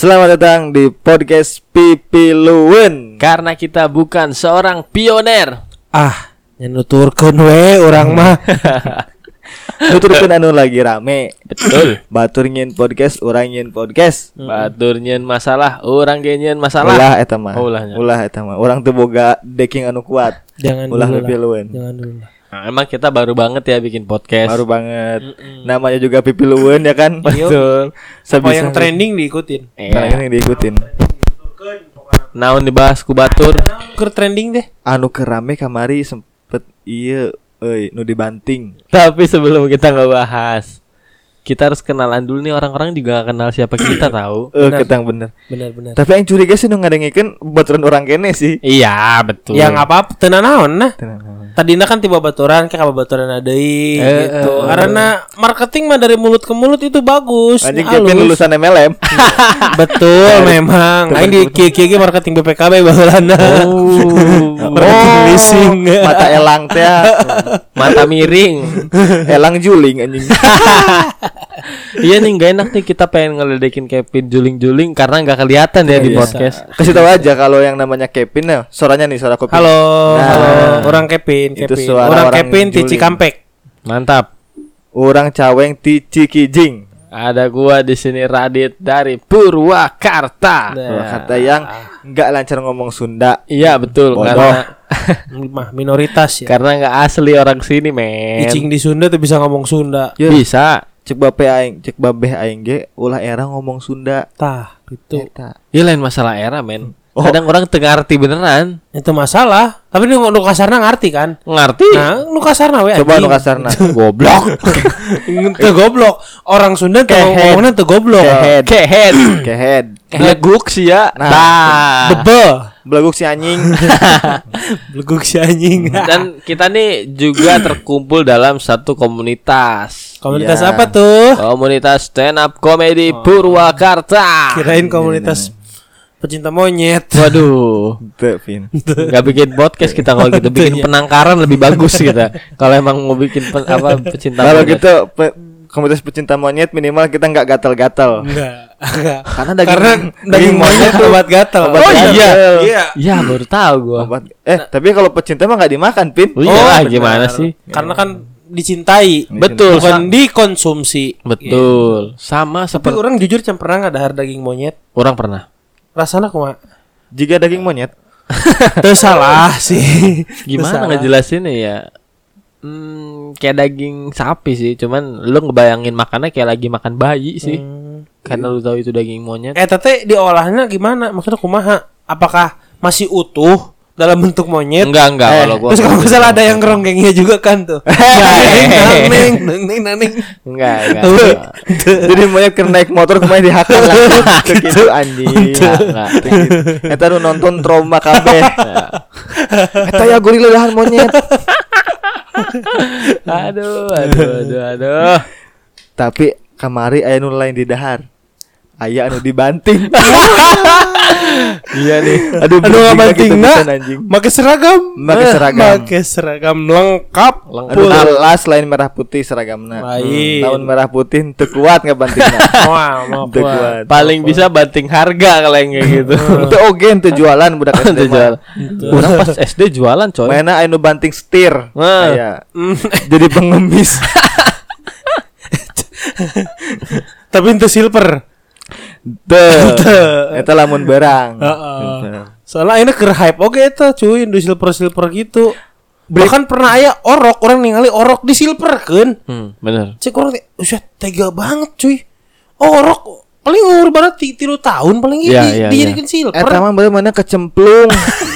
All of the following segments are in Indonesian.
Selamat datang di podcast Pipi Luwen. Karena kita bukan seorang pioner. Nyenuturkeun we urang mah. Nuturkeun anu lagi rame. Betul. Batur nyeun podcast, urang nyeun podcast. Batur nyeun masalah, urang ge nyeun masalah. Ulah eta mah. Ulahnya. Ulah eta mah. Urang teu boga decking anu kuat. Jangan Ulah dulu Pipi lah. Luwen. Jangan dulu lah. Nah, emang kita baru banget ya bikin podcast. Baru banget. Namanya juga Pipi Luwen ya kan? Betul. Apa yang trending diikutin. Nah, ini diikutin. Naon dibahas ku batur. Keur trending deh. Anu kerame kamari sempet ieu nu dibanting. Tapi sebelum kita ngebahas, kita harus kenalan dulu nih, orang-orang juga gak kenal siapa kita tahu. Ketang bener. Benar. Tapi yang curiga sih nu ngadengikeun baturan orang kene sih. Iya, betul. Yang apa teu naon nah. Tenang. Tadina kan tiba baturan ke baturan deui gitu. Karena marketing mah dari mulut ke mulut itu bagus. Anjing halus. Kevin lulusan MLM. Betul memang. Aing di kieu marketing BPKB baheulana. Marketing leasing. Mata elang teh. Mata miring. Elang juling anjing. Iya nih, gak enak nih kita pengen ngeledekin Kevin juling-juling karena gak kelihatan ya di Biasa. podcast. Kasih tahu aja kalau yang namanya Kevin ya, suaranya nih suara kopi. Halo, Nah, halo. Orang Kevin. itu suara Orang orang Kevin di juling. Cikampek. Mantap. Orang Caweng ti Cikijing. Ada gua di sini Radit dari Purwakarta. Kata yang enggak lancar ngomong Sunda. Iya betul, Bodoh. karena Mah minoritas ya. karena nggak asli orang sini men. Icing di Sunda tuh bisa ngomong Sunda. Ya. Bisa. Cek babeh aing ge ulah era ngomong Sunda. Tah, gitu. Eta. Ya lain masalah era men. Oh. Kadang orang tengah arti beneran. Itu masalah. Tapi nu kasarna ngerti kan? Ngerti? Nah, nu kasarna we Coba nu anjing. kasarna. Goblok. Teu goblok. Orang Sunda teu ngomongna teu goblok. Kehead. Kehead. Kehead. Beleguk sih ya. Nah. Bebe. Beleguk si anjing. Beleguk si anjing. Dan kita nih juga terkumpul dalam satu komunitas. Komunitas Ya. apa tuh? Komunitas stand up comedy Purwakarta. Kirain komunitas pecinta monyet. Waduh. Teu, Vin. Gak bikin podcast kita kalau gitu, bikin Iya. penangkaran lebih bagus kita. Kalau emang mau bikin pecinta Kalau monyet. gitu komunitas pecinta monyet minimal kita enggak gatal-gatal. Enggak. Karena Daging monyet obat gatal. Obat Oh gatal. iya. Iya. Ya baru tahu gua. Obat. Tapi kalau pecinta mah enggak dimakan, Pin. Oh, iya, benar. gimana sih? Karena kan dicintai. Betul, Bukan dikonsumsi. Betul. Sama Tapi seperti orang jujur can pernah ngadahar daging monyet. orang pernah. Rasana kumaha? Jika daging monyet, Teu salah sih. Gimana Teu salah. ngejelasinnya ya? Kayak daging sapi sih, cuman lu ngebayangin makannya kayak lagi makan bayi sih. Karena lu tahu itu daging monyet. Tete diolahnya gimana? Maksudnya kumaha? Apakah masih utuh dalam bentuk monyet? Enggak kalau gua. Terus kalau misalnya ada yang ngeronggengnya juga kan tuh. Neng. Enggak. jadi monyet kena naik motor kemarin dihakal lah. Gitu anjing. Enggak. Eta nu nonton trauma kabeh. Eta ya gorila dahan monyet. Aduh. Tapi kamari aya nu lain di dahar. Aya anu dibanting. Iya nih. Aduh ngabantingna anjing. Make seragam. Make seragam. Make seragam lengkap. Anu alas lain merah putih seragamna. Baik. Tahun merah putih teu kuat ngabantingna. Wah, Teu kuat. Paling bisa banting harga kalau yang kayak gitu. Teu oge teu jualan budak SD Teu jual. mah. Orang pas SD jualan coy. Mainna aya nu banting setir. Nah. Aya. Jadi pengemis. Tapi itu silver. Teu. Eta lamun berang. Soalnya ini keur hype oke eta cuy, di silver gitu. Bahkan pernah aya orok, orang ningali orok di silver kan. Bener. Cek orang udah tega banget cuy. Orok paling umur berapa 3 tahun paling Iya. dijadikan silver. Eta mah bener mana kecemplung.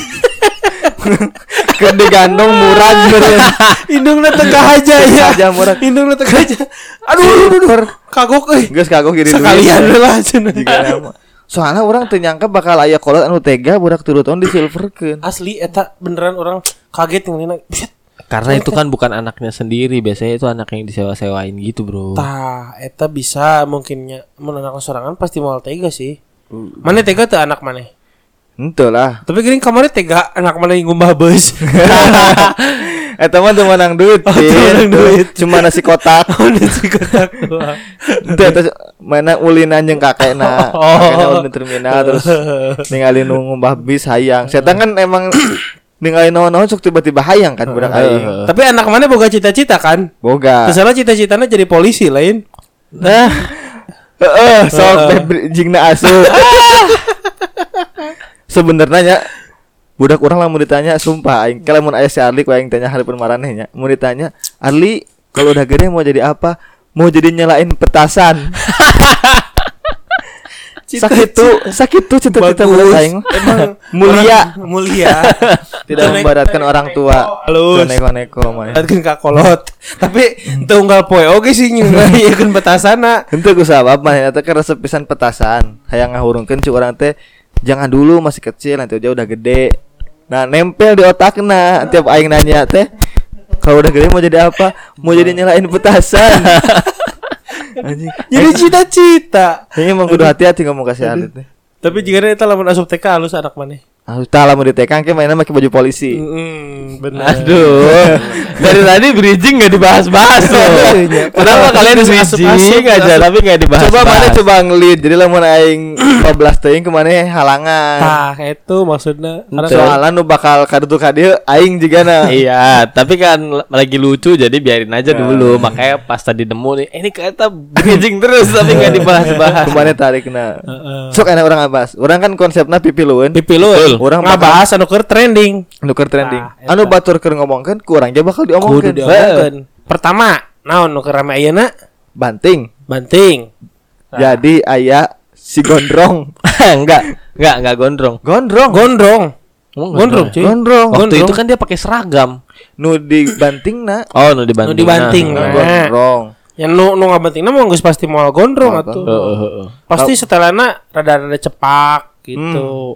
Keur digandong murah bener. Indungna tengah aja ya. Aja murah. Indungna tengah aja. Aduh. Kagok euy. Geus kagok jadi duit. Sekalian lah cenah. Jika nama. Soalnya orang teu nyangka bakal aya kolot anu tega budak 3 tahun disilverkeun. Asli eta beneran orang kaget ngelina. Buset. Karena itu kan bukan anaknya sendiri, biasanya itu anak yang disewa-sewain gitu, Bro. Tah, eta bisa mungkinnya mun anak sorangan pasti moal tega sih. Mana tega tuh anak mana? Henteu lah. Tapi gini kamarnya tega anak mana yang ngumbah bus. Eta mah teu menang duit. menang duit. Cuma nasi kotak. Nasi kotak doang. Teu eta mana ulinan jeung kakekna. Kakekna ulin terminal terus ningali nu ngumbah bis hayang. Saya kan emang ningali naon-naon sok tiba-tiba hayang kan budak aing. Tapi anak mana boga cita-cita kan? Boga. Terserah cita-citanya jadi polisi lain. Nah. Sok jingna asup. Sebenarnya budak orang lah mau ditanya sumpah aing kalau mun aya si Arli ku aing tanya hari maraneh nya. Mau ditanya, "Arli, kalau udah gede mau jadi apa?" Mau jadi nyalain petasan. Sakit tuh cita-cita budak aing. Emang mulia. Tidak membaratkan orang tua. Halus. Neko-neko mah. Datkeun ka kolot. Tapi teu unggal poe oge sih nyieun petasana. Henteu ku sabab mah eta kan resep pisan petasan. Hayang ngahurungkeun cuk urang teh jangan dulu masih kecil nanti aja udah gede. Nah, nempel di otakna tiap aing nanya teh kalau udah gede mau jadi apa? Mau jadi nyalain petasan. Anjing. Jadi cita-cita. Kayaknya emang kudu hati-hati ngomong kasih Arli teh. Tapi jika eta lamun asup TK halus anak maneh. Tah lamun di TK ke mainan pakai baju polisi. Bener. Aduh. Dari tadi bridging enggak dibahas-bahas loh. Kenapa kalian bridging aja tapi enggak dibahas? Coba ngelit. Jadi lamun aing 15 teuing ke maneh halangan. Tah itu maksudnya. Soalnya nu bakal kadutu ka dieu aing jigana. Iya, tapi kan lagi lucu jadi biarin aja dulu. Makanya pas tadi nemu nih, ini kata bridging terus tapi enggak dibahas-bahas. Kumaneh tarikna. Sok enak orang ngabas. Urang kan konsepna pipilueun. Urang ngabahas anu keur trending. Anu batur keur ngomongkeun ku urang ge bakal diomongkeun. Pertama, naon nu keur rame ayeuna? Banting. Jadi aya si gondrong. Enggak gondrong. Gondrong. Cuy. Waktu itu kan dia pakai seragam. Nu dibantingna. Oh, nu dibanting. Gondrong. Yang nu ngabantingna mah geus pasti moal gondrong atuh. Pasti setelana rada-rada cepak gitu.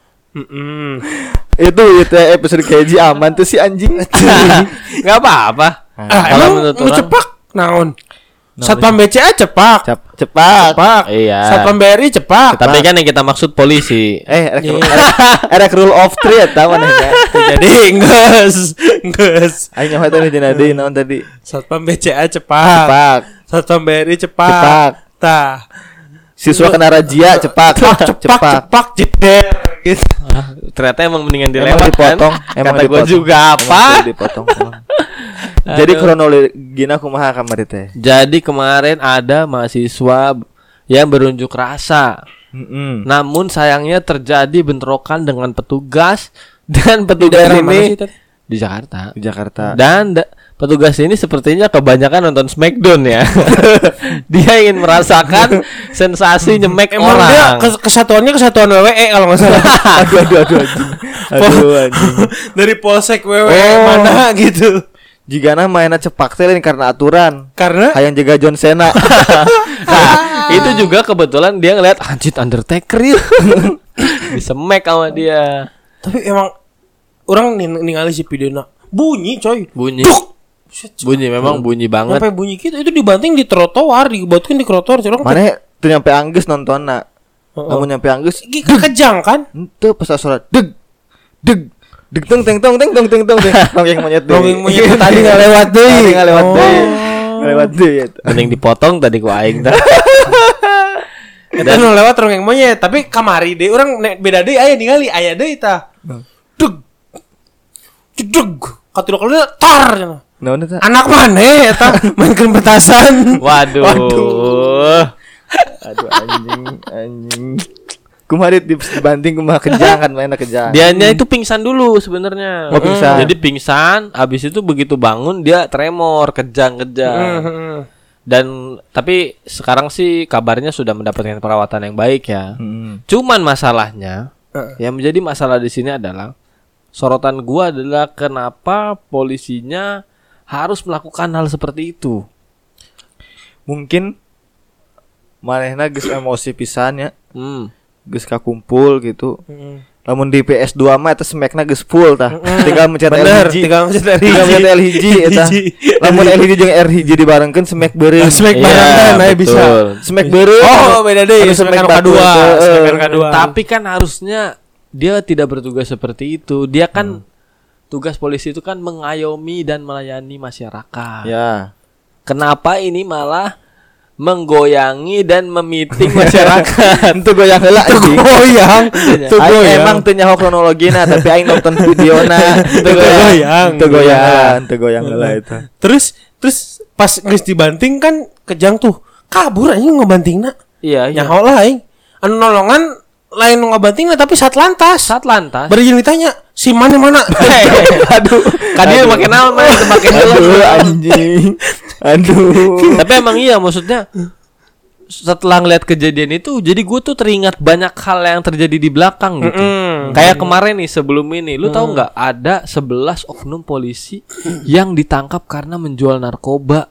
Itu episode keji aman tuh si anjing. Enggak apa-apa. Emang nu cepak naon? Satpam BCA cepak. Cepak. Iya. Satpam BRI cepak. Tapi kan yang kita maksud polisi. Erek rule of three eta manehnya. Jadi geus. Aing nyaho tadi dina deui naon tadi? Satpam BCA cepak. Satpam BRI cepak. Tah. Siswa kena razia cepak jeder gitu. Ternyata emang mendingan dilewat dipotong. Kan? Kata gue juga apa? Dipotong. Jadi kronologina kumaha kamari teh? Jadi kemarin ada mahasiswa yang berunjuk rasa. Namun sayangnya terjadi bentrokan dengan petugas dan petugas ini di Jakarta. Dan petugas ini sepertinya kebanyakan nonton Smackdown ya. Dia ingin merasakan sensasi nyemek emang orang. Dia kesatuan WWE kalau nggak salah. Aduh anjing. Dari polsek WWE mana gitu. Jigana mainnya cepak teh karena aturan. Karena hayang jaga John Cena. Nah, itu juga kebetulan dia ngeliat anjir Undertaker ya. Disemek sama dia. Tapi emang orang ningali si videona bunyi coy. Bunyi memang bunyi banget. Sampai bunyi gitu itu dibanting di trotoar, dibuatkan di trotoar corong. Mana tuh nyampe anggeus nontonna. Namun nyampe anggeus kejang kan? Henteu pas suara deg teng Rongeng monyet tadi enggak lewat deui. Lewat deui. Mending dipotong tadi ku aing teh. Eta nu lewat rongeng monyet, tapi kamari deui urang beda deui aya ningali aya deui tah. Deg. Katilu kali tar cenah. Naon eta? Anak maneh eta mainkeun petasan. Waduh. Aduh anjing. Kumaha dibanting kumaha kejang kan mainnya kejang. Dianya itu pingsan dulu sebenarnya. Oh, pingsan. Jadi pingsan, habis itu begitu bangun dia tremor, kejang. Dan tapi sekarang sih kabarnya sudah mendapatkan perawatan yang baik ya. Cuman masalahnya yang menjadi masalah di sini adalah sorotan gua adalah kenapa polisinya harus melakukan hal seperti itu. Mungkin manehna geus emosi pisan ya. Geus kakumpul gitu. Lamun di PS2 mah eta smackna geus full tah. Tinggal mencet LHJ. Eta. Lamun LHJ jeung RHJ dibarengkeun smack beureum. Smack barengan aya bisa. Smack beureum. Oh, beda deui smack kedua. Tapi kan harusnya dia tidak bertugas seperti itu. Dia kan tugas polisi itu kan mengayomi dan melayani masyarakat. Ya. Kenapa ini malah menggoyangi dan memiting masyarakat? Itu goyang heula anjing. Goyang. Itu goyang. Emang teu nyaho kronologina tapi aing nonton videona. Itu goyang heula itu. Terus pas geus dibanting kan kejang tuh. Kabur anjing ngebantingna. Iya. Nyaho lah aing. Anu nolongan lain nu ngabantingna tapi satlantas. Bari jeung ditanya, si mana? Aduh. Kan dia make naon mah teu make helm. Aduh anjing. Aduh. Tapi emang iya maksudnya setelah ngeliat kejadian itu jadi gue tuh teringat banyak hal yang terjadi di belakang gitu. Kayak kemarin nih sebelum ini lu tahu nggak ada 11 oknum polisi yang ditangkap karena menjual narkoba.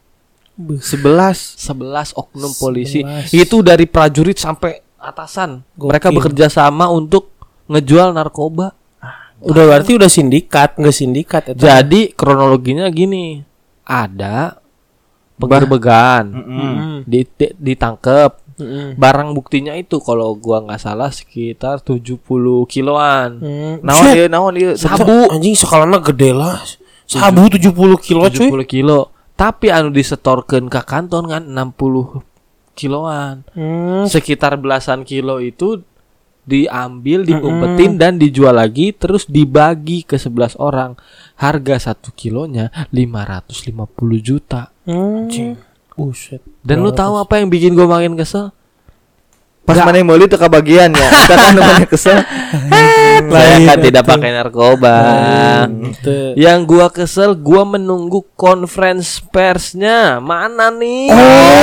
11 oknum polisi. Itu dari prajurit sampai atasan. Mereka bekerja sama untuk ngejual narkoba. Udah berarti udah sindikat, nggak sindikat itu. Jadi kronologinya gini. Ada penggerbegan, ditangkep. Barang buktinya itu kalau gua nggak salah sekitar 70 kiloan. Naon dia sabu. Anjing skalana gede lah. Sabu 70 kilo 70 kilo. Tapi anu disetorkeun ke kantor kan 60 kiloan. Sekitar belasan kilo itu diambil, diumpetin dan dijual lagi terus dibagi ke 11 orang. Harga 1 kilonya 550 juta. Buset. Dan lu tahu apa yang bikin gue makin kesel? Pas mana meuli teu kabagian ya. Kita kan namanya kesel. Saya kan tidak pakai narkoba. Yang gua kesel, gua menunggu conference persnya. Mana nih?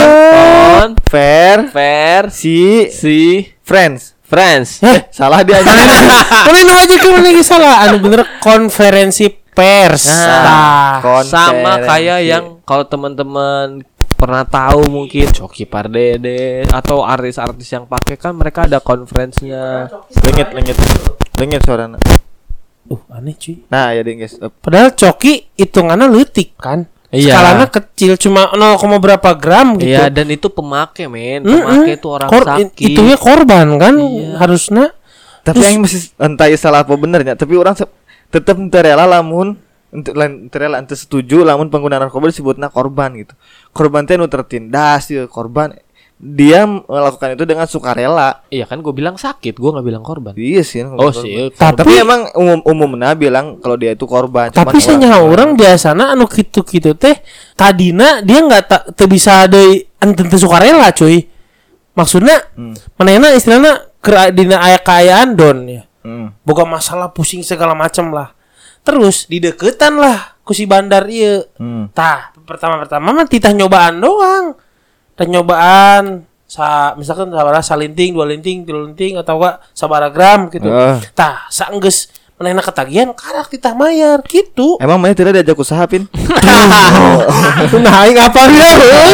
Fair si Friends. Salah dia aja. Mana nu aja ke mana salah. Anu bener konferensi pers. Sama kayak yang kalau teman-teman pernah tahu mungkin Coki Pardede atau artis-artis yang pakai kan mereka ada konferensinya. Lengit suarana. Aneh cuy. Nah, ya ding guys. Padahal Coki hitungannya leutik kan. Iya. Skalanya kecil cuma 0, berapa gram gitu. Iya, dan itu pemakai Pemakai itu orang sakit. Itu ya korban kan harusnya. Tapi yang masih entah salah apa benernya, tapi orang tetap rela lamun ente setuju lamun pengguna narkoba disebutna korban gitu. Korban teh nu tertindas ya, korban dia melakukan itu dengan sukarela. Iya kan gue bilang sakit, gue nggak bilang korban. Iya sih. Sih. Tapi emang umumnya bilang kalau dia itu korban. Tapi sanya orang biasanya anu gitu teh tadina dia nggak bisa ada ente sukarela cuy. Maksudnya manehna istilahnya dina aya kaayaan don ya. Boga masalah pusing segala macam lah. Terus dideketan lah ku si bandar ieu. Tah, pertama mah titah nyobaan doang. Tah nyobaan misalkan sabaraha salinting, 2 linting, 3 linting atau enggak sabaraha gram gitu. Tah, saenggeus manehna ketagihan karak titah mayar gitu. Emang maneh tidak diajak usaha pin? Nah, aing apa ya?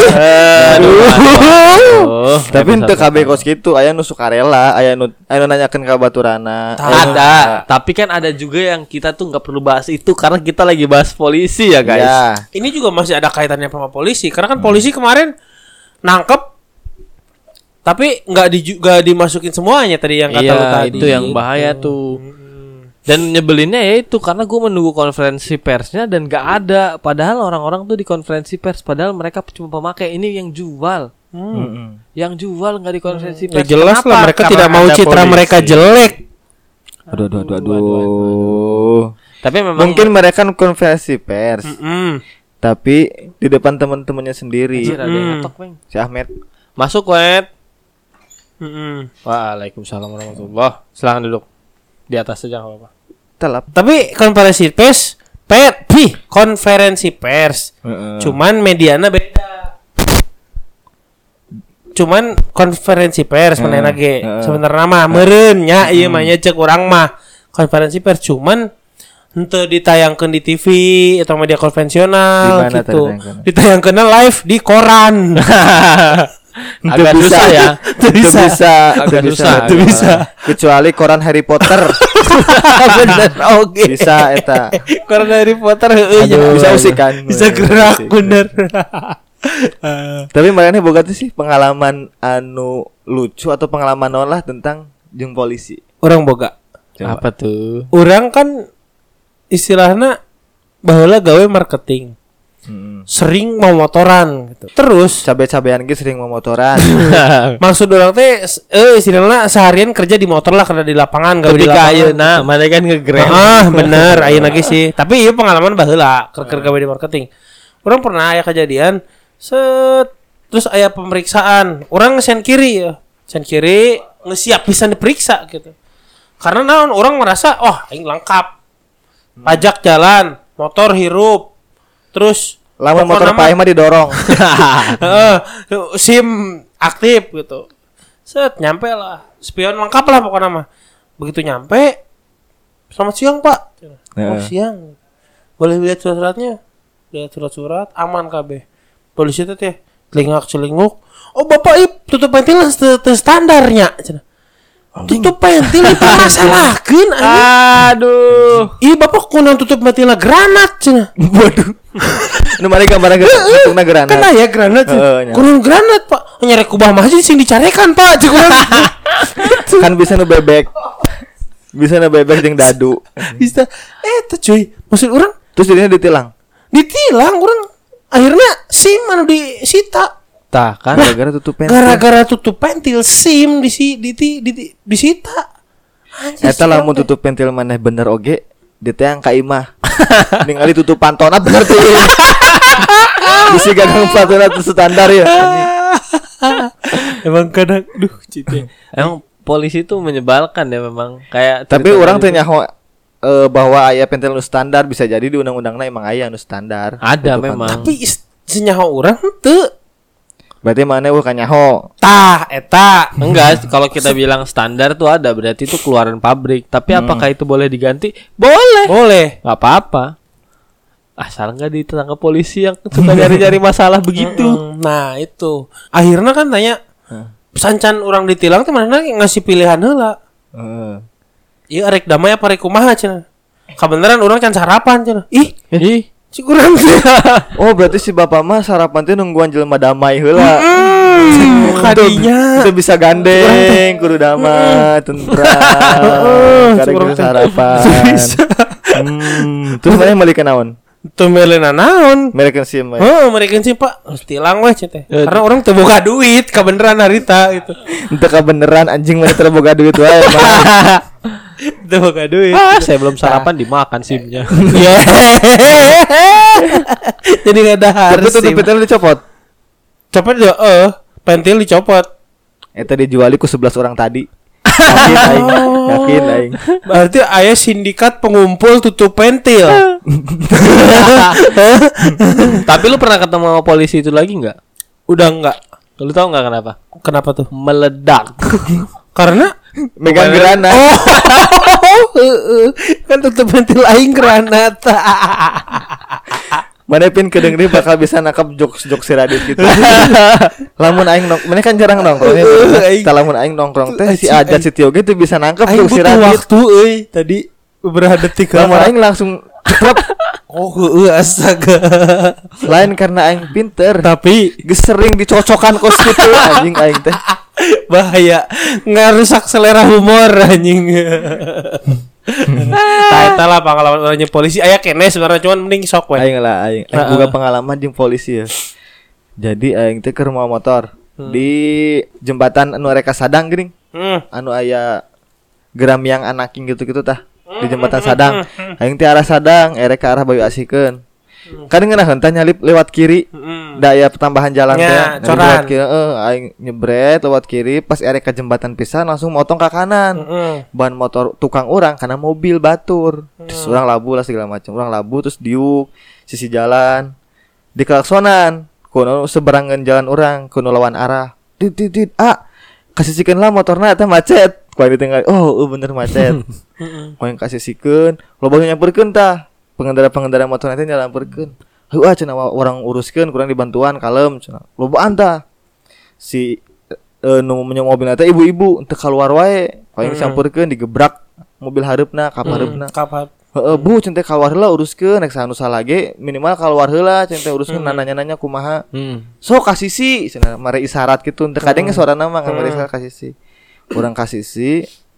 Tapi henteu kabeh kos kitu, aya nu sukarela, aya nu nanyakeun ka baturana. Ada, tapi kan ada juga yang kita tuh enggak perlu bahas itu karena kita lagi bahas polisi ya, guys. Ya. Ini juga masih ada kaitannya sama polisi karena kan polisi kemarin nangkep tapi nggak dimasukin semuanya tadi yang kata lu tadi. Itu yang bahaya tuh. Dan nyebelinnya ya itu karena gue menunggu konferensi persnya dan gak ada. Padahal orang-orang tuh di konferensi pers, padahal mereka cuma pemakai. Ini yang jual. Yang jual gak di konferensi pers. Ya jelas lah mereka tidak mau citra mereka jelek. Aduh. Tapi memang mungkin mereka konferensi pers. Tapi di depan teman-temannya sendiri. Ada yang ngetok, Bang. Si Ahmed. Masuk, Wet. Waalaikumsalam warahmatullahi. Silakan duduk. Di atas saja enggak apa-apa. Telap. Tapi konferensi pers. Cuman mediana beda. Cuman konferensi pers manehna ge sebenarnya mah meureun nya ieu mah nya cek urang mah konferensi pers cuman henteu ditayangkeun di TV atau media konvensional gitu. Ditayangkeun live di koran. Agak susah ya. Agak susah. Kecuali koran Harry Potter. Bener oke. Bisa eta. Koran Harry Potter heueuh. Bisa usikan. Bisa gerak bener. Tapi makanya boga tuh sih pengalaman anu lucu atau pengalaman non lah tentang jeung polisi. Orang boga. Apa tuh? Orang kan istilahnya baheula gawe marketing. Sering mau motoran gitu. Terus cabe-cabean ge sering mau motoran. maksud orang teh istilahnya seharian kerja di motor lah karena di lapangan gawe di Ketika lapangan. ayeuna mana kan ngegrab. Bener ayeuna ge sih. Tapi ieu pengalaman baheula keur gawe di marketing. Orang pernah aya kejadian terus aya pemeriksaan. Orang sen kiri ya. Sen kiri ngesiap pisan diperiksa gitu. Karena naon orang merasa aing lengkap. Pajak jalan, motor hirup. Terus Lamun motor paeh mah didorong. SIM aktif gitu. Nyampe lah. Spion lengkap lah pokoknya mah. Begitu nyampe, selamat siang Pak. Siang. Boleh lihat surat-suratnya? Lihat surat-surat, aman KB. Polisi itu teh celingak-celinguk. Oh Bapak tutup pentil standarnya. Tutup pentil itu masalahkeun anjing. Aduh. Bapak kunaon tutup pentilna granat cenah. Waduh. Nu mari gambar tutupna granat. Kan aya granat. Kunaon granat Pak? Nyarek kubah mah sing dicarekan Pak. Kan bisa nu bebek. Bisa nu bebek jeung dadu. Bisa. Teh cuy. Maksud urang terus jadinya ditilang. Ditilang urang. Akhirnya SIM anu disita. Tah kan gara-gara tutup pentil. Gara-gara tutup pentil SIM disita. Eta lamun tutup pentil maneh bener oge, diteang ka imah. Ningali tutup pantona bener teh. Bisi gagang pantona teu standar ya. Emang kadang cite. Emang polisi itu menyebalkan ya memang kayak. Tapi orang teh nyaho bahwa aya pentil nu standar bisa jadi di undang-undangna emang aya nu standar. Ada memang. Tapi senyaho urang teu. Berarti mana wah kanyaho. Tah eta. Enggak, kalau kita bilang standar tuh ada berarti itu keluaran pabrik. Tapi apakah itu boleh diganti? Boleh. Enggak apa-apa. Asal enggak ditangkap polisi yang suka nyari-nyari masalah begitu. Nah, itu. Akhirnya kan tanya sancan orang ditilang teh mana ngasih pilihan heula. Ieu arek damai apa arek kumaha cenah. Kabeneran urang can sarapan cenah. Ih. Kurang. Oh berarti si bapak mah sarapan teh nungguan jelema damai heula. Kadinya itu bisa gandeng kudu damai tentram. Karek sarapan. Terus mana balik ke naon? Tuh melena naon? Mereka SIM. Mereka SIM Pak. Harus tilang weh cenah. Karena orang teu boga duit kabeneran harita gitu. Entah kabeneran anjing mana teu boga duit wae. Teu boga duit. Saya belum sarapan dimakan SIM-nya. Jadi enggak ada harus. Tapi tutup pentil dicopot. Copot ya pentil dicopot. Eta dijuali ku 11 orang tadi. Yakin aing. Berarti aya sindikat pengumpul tutup pentil. Tapi lu pernah ketemu sama polisi itu lagi enggak? Udah enggak. Lu tahu enggak kenapa? Kenapa tuh? Meledak. Karena megang granat. Kan tutup pentil aing granat. Mana pin kedengerin bakal bisa nangkap jokes si Radit gitu. Lamun aing mana kan jarang nongkrong. Lamun aing nongkrong teh si Ajat si Tio gitu bisa nangkap jokes si Radit. Waktu tadi beberapa detik. Lamun aing langsung cekrep. Astaga. Lain karena aing pinter, tapi geus sering dicocokan kos kitu anjing aing teh. Bahaya, ngerusak selera humor anjing. Eta lah pengalaman orangnya polisi. Aya kene sebenarnya cuman mending sok we. Aing juga pengalaman jeung polisi ya. Jadi aing teh keur mau motor di jembatan anu reka Sadang geuning. Anu aya geram yang anaking gitu-gitu tah. Di jembatan Sadang. Aing teh arah Sadang, erek ke arah Bayu Asikeun. Kadang ngeunaheun teh nyalip lewat kiri. Da aya pertambahan jalan teh. Lewat kiri, aing nyebret lewat kiri, pas erek ke jembatan pisan langsung motong ke kanan. Ban motor tukang urang karena mobil batur. Terus urang labu lah segala macam. Urang labu terus diuk sisi jalan. Di klaksonan, kuno seberangan jalan urang, kuno lawan arah. Dit kasihkeun lah motorna teh macet. Ku ditinggal. Bener macet. Ku yang kasihkeun, loba nyamperkeun tah. Pengendara motor nanti nyamperkeun. Heuh cenah orang uruskeun kurang dibantuan kalem cenah. Lobaan tah. Si nu punya mobil teh ibu-ibu teu kaluar wae. Ku yang samperkeun digebrak mobil hareupna, kap hareupna. Bu cenah teh kaluar heula uruskeun nek sanu salah ge minimal kaluar heula cenah teh uruskeun nanya-nanya kumaha. Sok kasisi cenah mare isyarat kitu teu kadenge suarana mah mare isyarat kasisi. Urang kasisi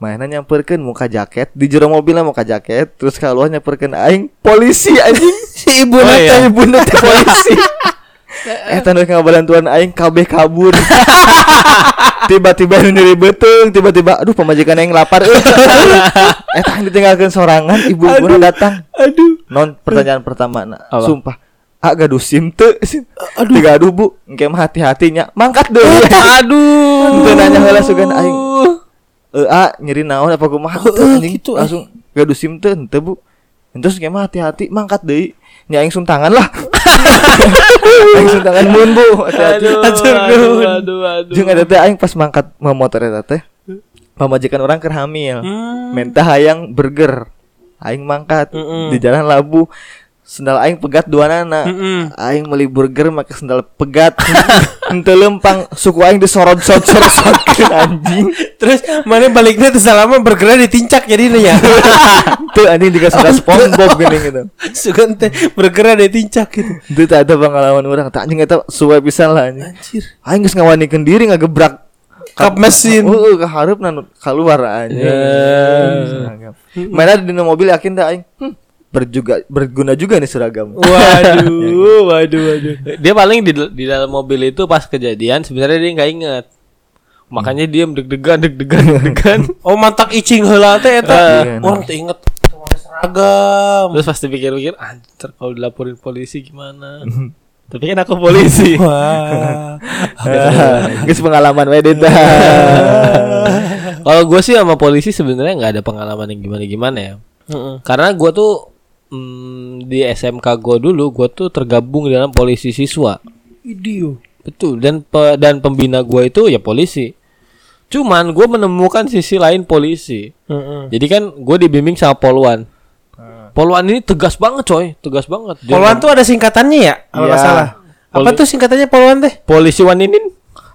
Mainan nyamperkeun muka jaket di jero mobilnya muka jaket terus kaluar nyamperkeun aing polisi anjing. Si ibu nate polisi. Tanda ngabantuan aing kabeh kabur. Tiba-tiba nyeri beteng, tiba-tiba aduh pamajikan aing lapar. Aing ditinggalkeun sorangan, ibu-ibuna datang. Aduh. Non pertanyaan pertama sumpah. Gaduh SIM teu. Aduh gaduh Bu, engke mah hati-hatinya. Mangkat deui. Aduh. Teu nanya heula sugan aing. Nyeri naon apa kumaha anjing gitu, langsung gaduh SIM teu henteu Bu. Terus engke mah hati-hati mangkat deui. Nya aing sum tangan lah. Aing sum tangan mun Bu, hati-hati. Aduh. Jeung eta teh aing pas mangkat motor eta teh pamajikan orang keur hamil. Minta hayang burger. Aing mangkat di jalan labu. Sendal aing pegat duanana. Aing meuli burger make sendal pegat. Henteu lempang suku aing disorot-sorot anjing. Terus mana baliknya teh salama burgernya ditincak jadinya ya. Tuh anjing dikasih SpongeBob gini gitu. Sugan teh burgernya ditincak gitu. Itu tak ada pengalaman orang. Tak anjing eta suwe pisan lah anjing. Anjir. Aing geus ngawanikeun diri ngagebrak kap mesin. Ka hareupna keluar anjing. Mana di mobil yakin teh aing. Berguna juga nih seragam. Waduh. Dia paling di dalam mobil itu pas kejadian sebenarnya dia nggak inget. Makanya dia deg-degan. Oh mantak icing heula teh eta. Orang teh inget seragam. Terus pasti pikir-pikir, anjir kalau dilaporin polisi gimana? Tapi kan aku polisi. Wah. Geus pengalaman we Deta. Kalau gue sih sama polisi sebenarnya nggak ada pengalaman yang gimana ya. Karena gue tuh di SMK gue dulu gue tuh tergabung dalam polisi siswa. Idio. Betul. Dan pembina gue itu ya polisi. Cuman gue menemukan sisi lain polisi. Jadi kan gue dibimbing sama Polwan. Polwan ini tegas banget coy. Tegas banget. Polwan tuh ada singkatannya ya? Kalau nggak salah. Apa tuh singkatannya Polwan teh? Polisi waninin.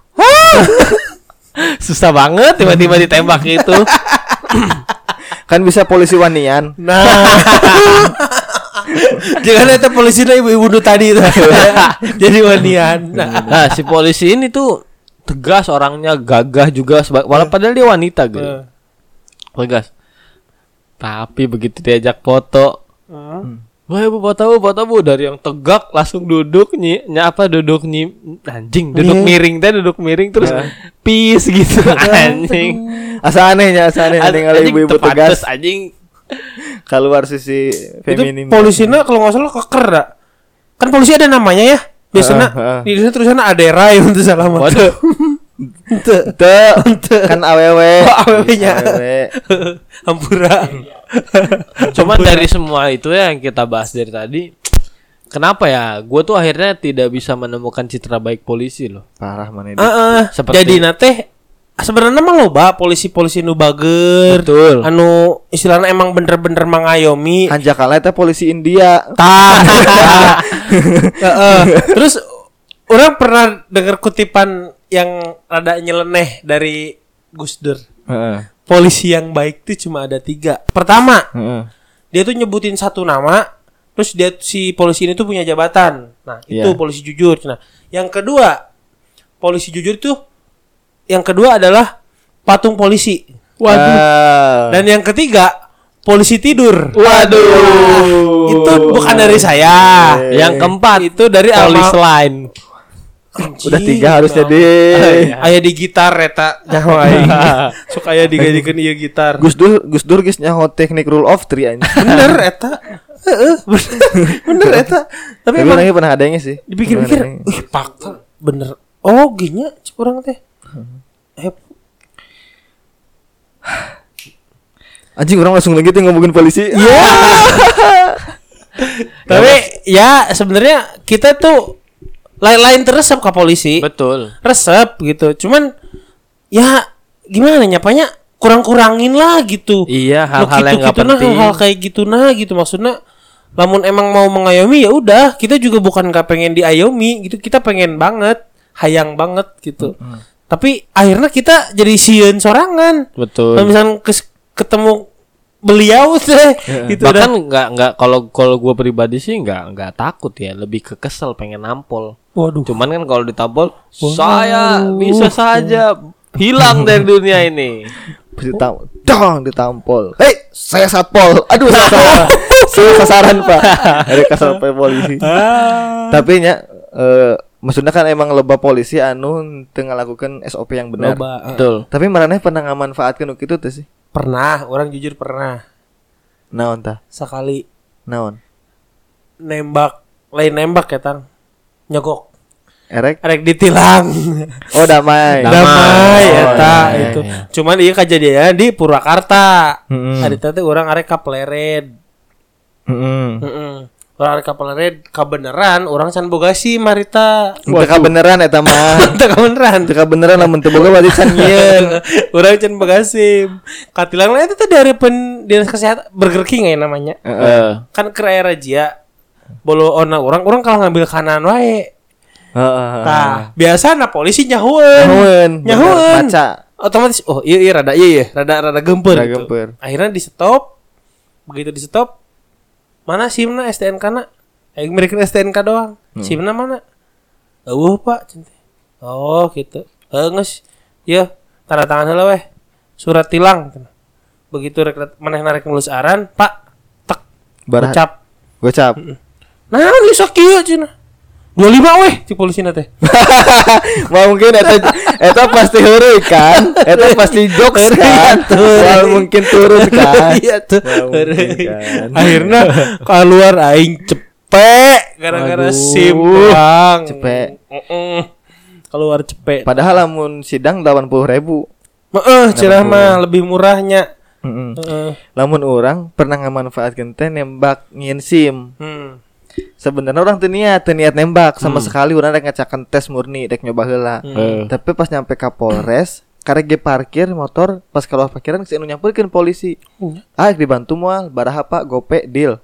Susah banget tiba-tiba ditembak itu. Kan bisa polisi wanian. Nah. Jangan itu polisinya ibu-ibu tadi itu. Jadi wanian. Nah, si polisi ini tuh tegas orangnya, gagah juga walaupun padahal dia wanita gitu. Tegas. Tapi begitu diajak foto. Wah, Bu, foto Bu dari yang tegak langsung duduk duduk miring terus peace gitu anjing. Asa anehnya ningali ibu-ibu tegas anjing. Keluar sisi feminim. Itu polisinya kalau enggak salah keker dah. Kan polisi ada namanya ya. Biasanya di sana tulisannya Adera yang untuk salaman. Waduh. Kan awewe. Awewe-nya. Hampura. Cuman dari semua itu ya yang kita bahas dari tadi, kenapa ya? Gue tuh akhirnya tidak bisa menemukan citra baik polisi loh. Parah mana ini. Jadi nate sebenarnya mah loba polisi-polisi nu bager. Betul. Anu istilahnya emang bener-bener mengayomi. Hanjakala eta polisi India. Terus orang pernah dengar kutipan yang rada nyeleneh dari Gus Dur. Polisi yang baik tuh cuma ada 3. Pertama, dia tuh nyebutin satu nama, terus dia si polisi ini tuh punya jabatan. Nah, itu polisi jujur. Nah, yang kedua, polisi jujur tuh yang kedua adalah patung polisi. Waduh. Dan yang ketiga, polisi tidur. Waduh. Itu bukan dari saya. Yang keempat itu dari polisi lain. Udah 3 harus jadi. Aya di gitar eta nyaho aing. Sok aya digajikeun ieu gitar. Gus Dur geus nyaho teknik rule of 3 anjing. Bener eta. Bener eta. Tapi emang pernah adanya sih. Dipikir-pikir, fakta bener. Oh, ginya urang teh. Anjing orang langsung lagi tuh ngomongin polisi. Iya. Tapi ya sebenarnya kita tuh lain-lain teresep ke polisi. Betul. Resep gitu. Cuman ya gimana nyapanya kurang-kurangin lah gitu. Iya, hal-hal yang enggak penting. Hal kayak gitu gitu maksudnya. Lamun emang mau mengayomi ya udah, kita juga bukan enggak pengen diayomi gitu. Kita pengen banget, hayang banget gitu. Tapi akhirnya kita jadi sieun sorangan. Betul. Kalau misalnya ketemu beliau teh gitu. Bahkan enggak kalau gue pribadi sih enggak takut ya, lebih ke kesel pengen nampol. Waduh. Cuman kan kalau ditampol saya bisa saja hilang dari dunia ini. dong ditampol. Hei, saya satpol. Aduh, saya sasaran Pak. Dari sampai polisi. Tapi nya maksudnya kan emang loba polisi anu teu ngalakukeun SOP yang benar. Betul. Tapi maraneh pernah ngamanfaatkeun kitu teh sih? Pernah, orang jujur pernah. Naon tah? Sekali Naon? lain nembak ya Tang. Nyogok. Erek Ditilang. Oh damai Eta iya, itu. iya. Cuman ieu kejadian di Purwakarta. Mm-mm. Ari teh urang arek kaplered. Urang arek kaplered kabeneran urang can boga SIM harita. Teka beneran eta mah. Teu kabeneran. Teka beneran lamun teu boga berarti can nyieun. Urang can boga SIM. Katilang eta teh dari dinas kesehatan Burger King ya namanya. Kan ke aya razia. Bolo ona urang kalah ngambil kanan wae. Tah, biasana polisi nyahueun. Baca. Otomatis iya rada gempeur gitu. Akhirnya di stop. Begitu di stop, mana SIM-na STNK-na? Aing merikeun STNK doang. SIM-na mana? Eueuh, Pak. Oh, gitu. Geus. Ieu, tanda tangan heula weh. Surat tilang. Begitu manehna rek nulus aran, Pak. Tek. Gocap. Nah, geus sakieu cenah. 25 weh si polisina teh. Mungkin eta pasti heureuy kan. Eta pasti jokes kan. Mungkin turun kan. Iya tuh. Akhirnya keluar aing cepet gara-gara SIM doang. Cepet. Keluar cepet. Padahal lamun sidang 80.000. Cenah mah lebih murahnya. Lamun orang pernah ngamanfaatkeun teh nembak nyieun SIM. Sebenarnya orang teu niat nembak sama sekali, urang rek ngacakan tes murni rek nyoba heula. Tapi pas nyampe ka Polres, karek ge parkir motor, pas keluar parkiran geus anu nyamperkeun polisi. Dibantu moal, baraha Pak, gope deal.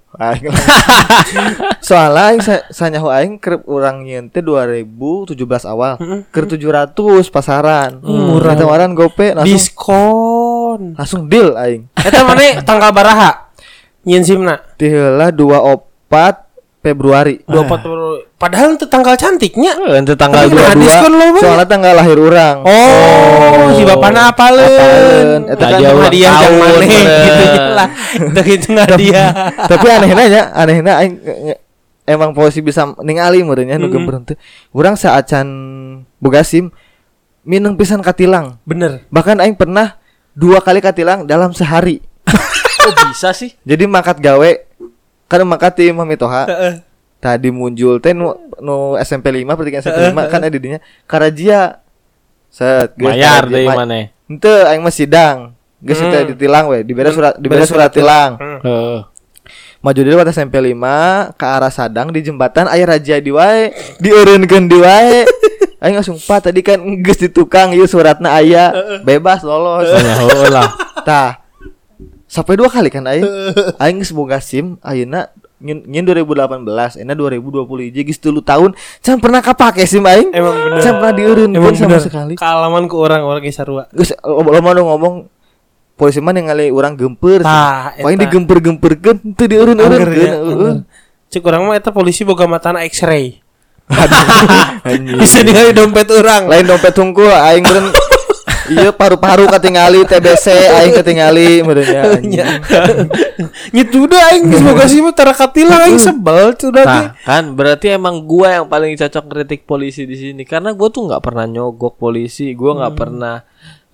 Soalnya aing sanyaho aing keur urang nyieun teh 2017 awal, keur 700 pasaran. Murah tawaran gope langsung diskon. Langsung deal aing. Eta mane tanggal baraha? Nyieun SIM-na. Ti heula 24 Februari. 24 Februari. Padahal itu tanggal cantiknya. Itu tanggal 22. Soalnya tanggal lahir orang. Si bapana apaleun. Eta kan hadiah jang maneh gitu lah. Itu hadiah. Tapi anehna aing emang polisi bisa ningali meureunnya nu gembeur teh. Urang saacan boga SIM mineng pisan katilang. Bener. Bahkan aing pernah 2 kali katilang dalam sehari. Kok bisa sih? Jadi makat gawe kan makat ti Mami Toha. Tadi muncul teh nu SMP 5 pertigaan SMP 5 kan ada dinya karajia. Set bayar deui maneh. Henteu aing mah sidang. Geus teh ditilang we, dibere surat tilang. Maju deui waktu SMP 5 ke arah Sadang di jembatan aya razia di wae, dieureunkeun di wae. Aing langsung Pak tadi kan geus di tukang ieu suratna aya, bebas lolos. Lah. Tah. Sampai 2 kali kan aing geus boga SIM ayeuna nyin 2018 enak 2020 geus 3 tahun can pernah kapake SIM aing. Emang bener. Can pernah dieureunkeun sama sekali. Kaalaman ku orang ge sarua. Geus lama ngomong polisi mah ningali urang gempeur. Paling digempeur-gempeurkeun teu dieureun-eureunkeun. Cek urang mah eta polisi boga matana X-ray. Aduh. Bisa ningali dompet urang. Lain dompet tungkul aing beureun iya paru-paru katingali TBC aing katingali meureunnya anjing. Gitu udah aing geus boga SIM tara katilang aing sebel tuh nah, kan berarti emang gua yang paling cocok kritik polisi di sini karena gua tuh enggak pernah nyogok polisi, gua enggak pernah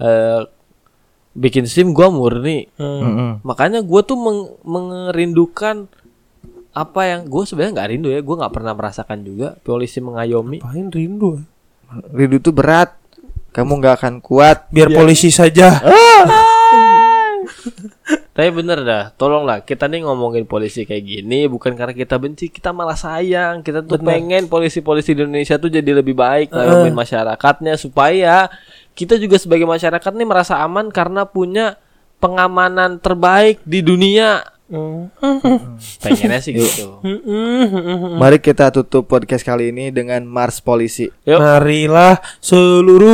bikin SIM, gua murni. Makanya gua tuh merindukan apa yang gua sebenarnya enggak rindu ya, gua enggak pernah merasakan juga polisi mengayomi. Apain rindu? Rindu tuh berat. Kamu gak akan kuat. Biar polisi saja. Tapi bener dah, tolonglah kita nih ngomongin polisi kayak gini bukan karena kita benci, kita malah sayang. Kita tuh pengen polisi-polisi di Indonesia tuh jadi lebih baik ngayomin masyarakatnya supaya kita juga sebagai masyarakat nih merasa aman karena punya pengamanan terbaik di dunia. Pengennya sih gitu. Mari kita tutup podcast kali ini dengan Mars Polisi. Yuk. Marilah seluruh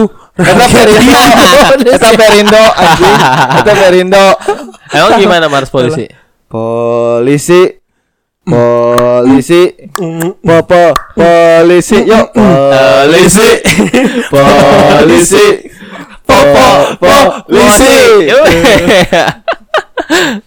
Eta Perindo anjing. Eta Perindo. Emang gimana Mars Polisi? Polisi polisi yuk polisi popo Polisi.